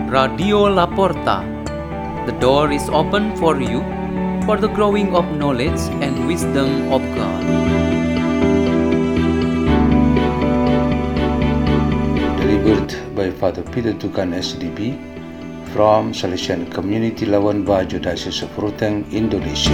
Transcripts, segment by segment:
Radio Laporta. The door is open for you for the growing of knowledge and wisdom of God. Delivered by Father Peter Tukan SDB from Salesian Community Labuan Bajo, Diocese of Ruteng, Indonesia.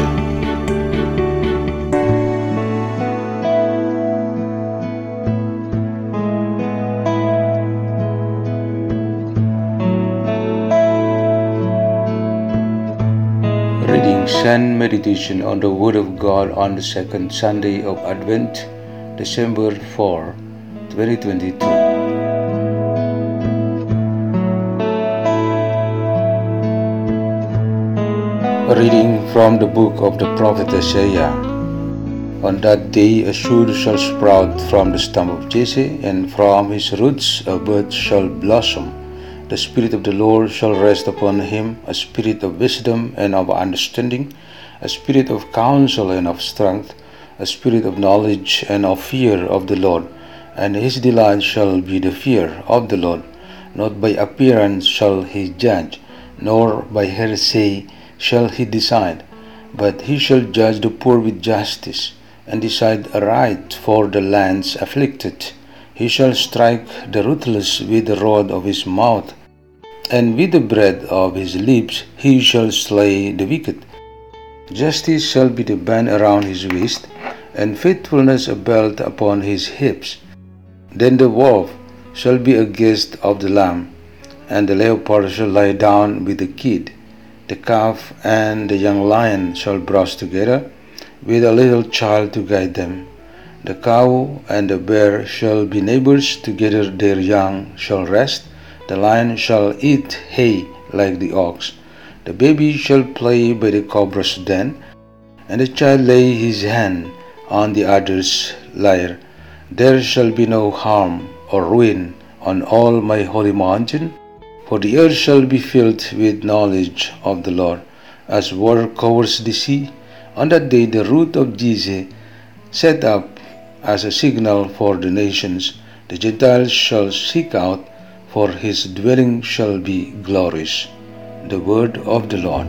Readings and meditation on the Word of God on the second Sunday of Advent, December 4, 2022. A reading from the book of the prophet Isaiah. On that day a shoot shall sprout from the stump of Jesse, and from his roots a bud shall blossom. The Spirit of the Lord shall rest upon him, a spirit of wisdom and of understanding, a spirit of counsel and of strength, a spirit of knowledge and of fear of the Lord. And his delight shall be the fear of the Lord. Not by appearance shall he judge, nor by hearsay shall he decide, but he shall judge the poor with justice, and decide aright for the lands afflicted. He shall strike the ruthless with the rod of his mouth, and with the breath of his lips he shall slay the wicked. Justice shall be the band around his waist, and faithfulness a belt upon his hips. Then the wolf shall be a guest of the lamb, and the leopard shall lie down with the kid. The calf and the young lion shall browse together, with a little child to guide them. The cow and the bear shall be neighbors, together their young shall rest. The lion shall eat hay like the ox. The baby shall play by the cobra's den, and the child lay his hand on the other's lyre. There shall be no harm or ruin on all my holy mountain, for the earth shall be filled with knowledge of the Lord, as water covers the sea. On that day the root of Jesse set up as a signal for the nations. The Gentiles shall seek out, for his dwelling shall be glorious. The word of the Lord.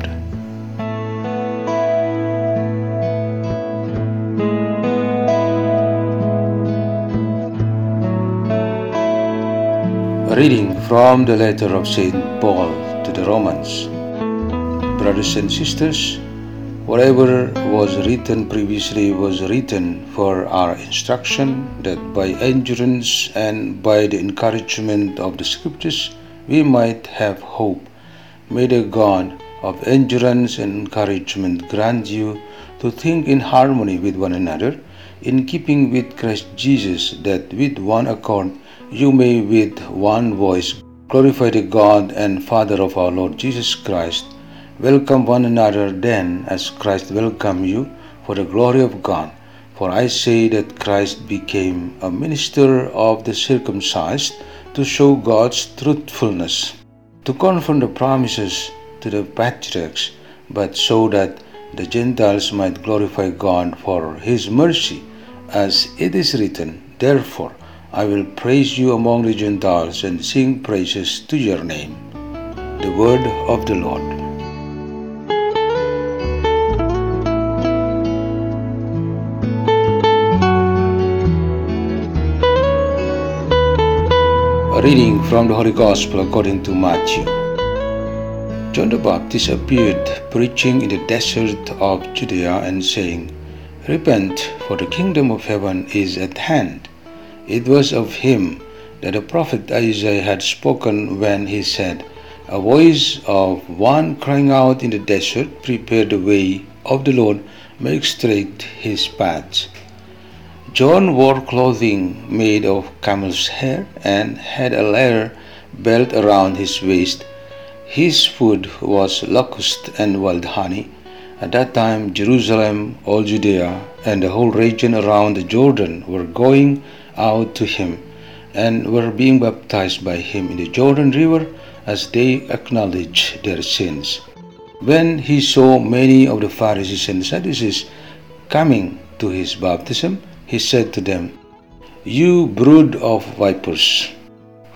A reading from the letter of St. Paul to the Romans. Brothers and sisters, whatever was written previously was written for our instruction, that by endurance and by the encouragement of the Scriptures we might have hope. May the God of endurance and encouragement grant you to think in harmony with one another, in keeping with Christ Jesus, that with one accord you may with one voice glorify the God and Father of our Lord Jesus Christ. Welcome one another then, as Christ welcomed you, for the glory of God. For I say that Christ became a minister of the circumcised to show God's truthfulness, to confirm the promises to the patriarchs, but so that the Gentiles might glorify God for his mercy, as it is written, therefore I will praise you among the Gentiles and sing praises to your name. The word of the Lord. A reading from the Holy Gospel according to Matthew. John the Baptist appeared preaching in the desert of Judea and saying, repent, for the kingdom of heaven is at hand. It was of him that the prophet Isaiah had spoken when he said, a voice of one crying out in the desert, prepare the way of the Lord, make straight his paths. John wore clothing made of camel's hair and had a leather belt around his waist. His food was locust and wild honey. At that time Jerusalem, all Judea, and the whole region around the Jordan were going out to him, and were being baptized by him in the Jordan River, as they acknowledged their sins. When he saw many of the Pharisees and Sadducees coming to his baptism, he said to them, you brood of vipers,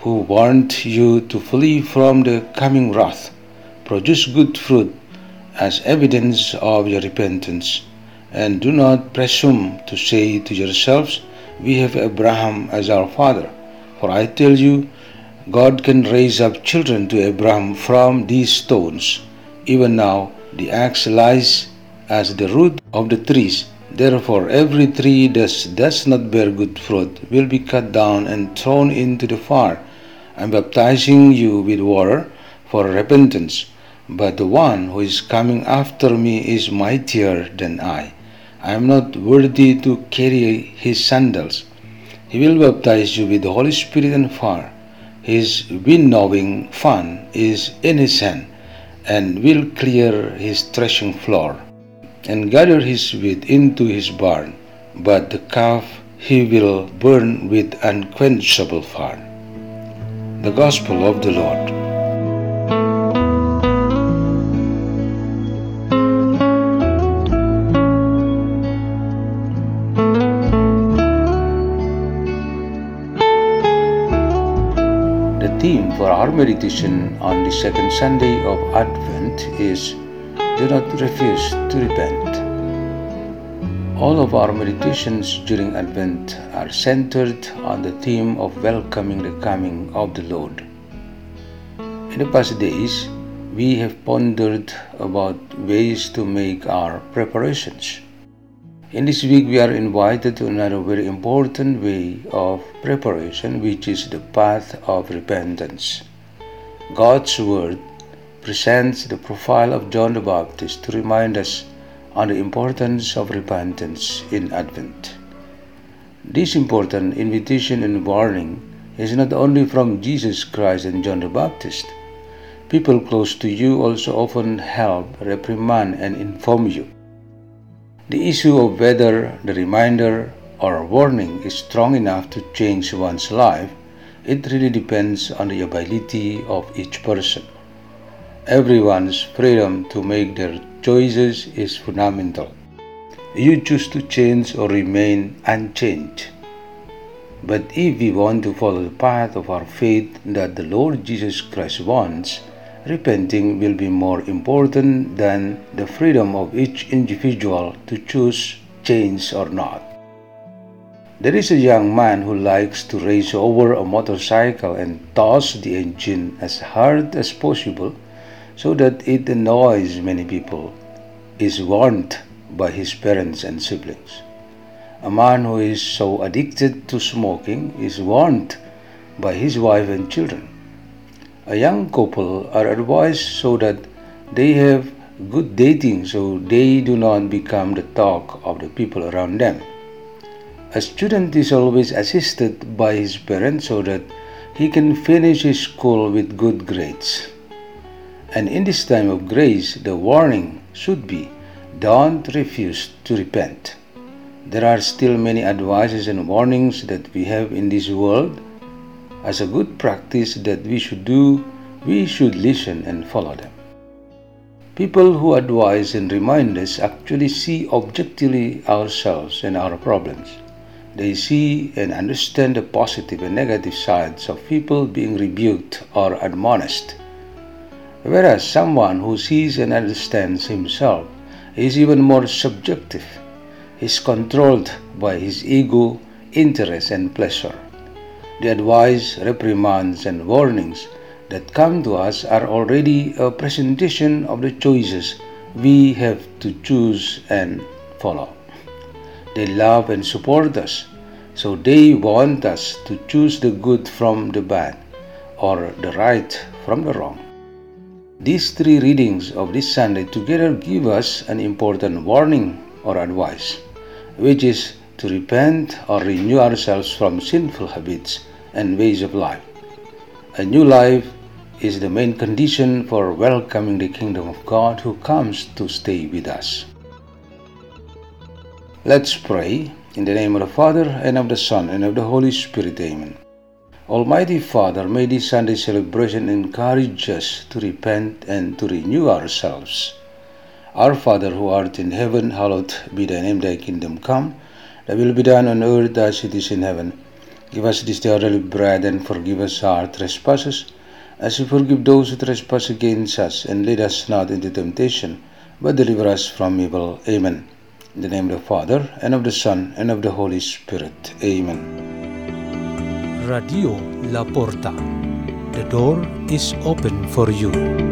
who warned you to flee from the coming wrath, produce good fruit as evidence of your repentance. And do not presume to say to yourselves, "We have Abraham as our father." For I tell you, God can raise up children to Abraham from these stones. Even now, the axe lies as the root of the trees. Therefore, every tree that does not bear good fruit will be cut down and thrown into the fire. I am baptizing you with water for repentance, but the one who is coming after me is mightier than I. I am not worthy to carry his sandals. He will baptize you with the Holy Spirit and fire. His winnowing fan is in his hand, and will clear his threshing floor, and gather his wheat into his barn, but the chaff he will burn with unquenchable fire. The Gospel of the Lord. The theme for our meditation on the second Sunday of Advent is "Do not refuse to repent." All of our meditations during Advent are centered on the theme of welcoming the coming of the Lord. In the past days, we have pondered about ways to make our preparations. In this week, we are invited to another very important way of preparation, which is the path of repentance. God's Word presents the profile of John the Baptist to remind us on the importance of repentance in Advent. This important invitation and warning is not only from Jesus Christ and John the Baptist. People close to you also often help, reprimand, and inform you. The issue of whether the reminder or warning is strong enough to change one's life, it really depends on the ability of each person. Everyone's freedom to make their choices is fundamental. You choose to change or remain unchanged. But if we want to follow the path of our faith that the Lord Jesus Christ wants, repenting will be more important than the freedom of each individual to choose change or not. There is a young man who likes to race over a motorcycle and toss the engine as hard as possible so that it annoys many people, is warned by his parents and siblings. A man who is so addicted to smoking is warned by his wife and children. A young couple are advised so that they have good dating so they do not become the talk of the people around them. A student is always assisted by his parents so that he can finish his school with good grades. And in this time of grace, the warning should be, don't refuse to repent. There are still many advices and warnings that we have in this world. As a good practice that we should do, we should listen and follow them. People who advise and remind us actually see objectively ourselves and our problems. They see and understand the positive and negative sides of people being rebuked or admonished. Whereas someone who sees and understands himself is even more subjective. He is controlled by his ego, interest, and pleasure. The advice, reprimands, and warnings that come to us are already a presentation of the choices we have to choose and follow. They love and support us, so they want us to choose the good from the bad, or the right from the wrong. These three readings of this Sunday together give us an important warning or advice, which is to repent or renew ourselves from sinful habits and ways of life. A new life is the main condition for welcoming the kingdom of God who comes to stay with us. Let's pray. In the name of the Father, and of the Son, and of the Holy Spirit. Amen. Almighty Father, may this Sunday celebration encourage us to repent and to renew ourselves. Our Father who art in heaven, hallowed be thy name, thy kingdom come. Thy will be done on earth as it is in heaven. Give us this day our daily bread, and forgive us our trespasses, as we forgive those who trespass against us. And lead us not into temptation, but deliver us from evil. Amen. In the name of the Father, and of the Son, and of the Holy Spirit. Amen. Radio La Porta. The door is open for you.